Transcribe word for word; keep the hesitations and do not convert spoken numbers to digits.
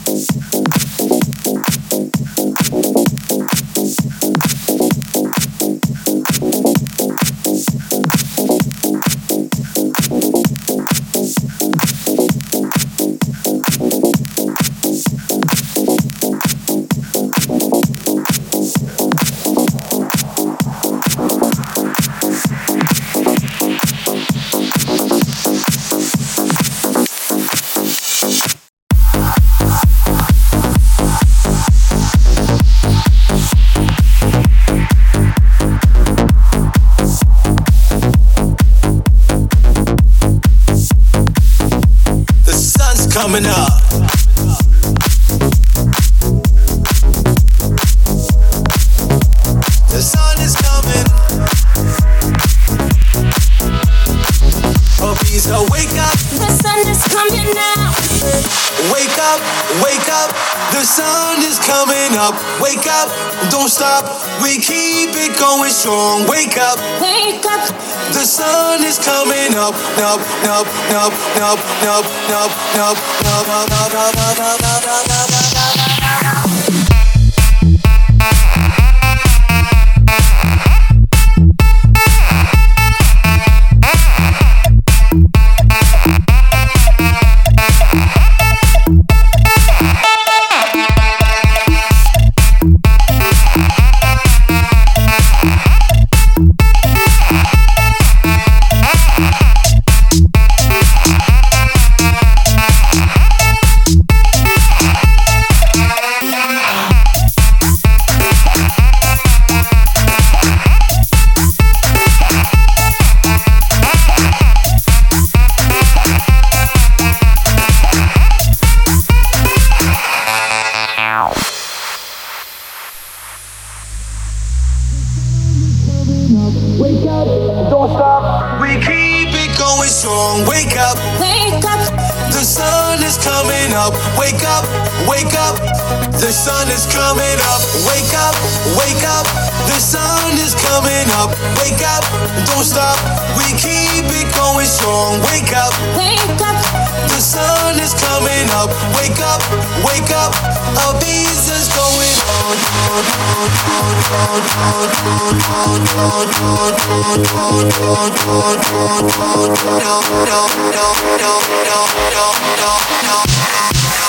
Coming up. The sun is coming. Oh, please, oh, wake up. The sun is coming now. Wake up, wake up. The sun is coming up. Wake up, don't stop. We keep it going strong. Wake up, wake up. The sun is coming up, up, up, up, up, up, up, up, up, up, up, up, up, up, up. Wake up, don't stop. We keep it going strong. Wake up, wake up. The sun is coming up. Wake up, wake up. The sun is coming up. Wake up, wake up. The sun is coming up. Wake up, don't stop. We keep it going strong. Wake up, wake up. The sun is coming up. Wake up, wake up. A business going on. No, no, no, no, no, no, no, no.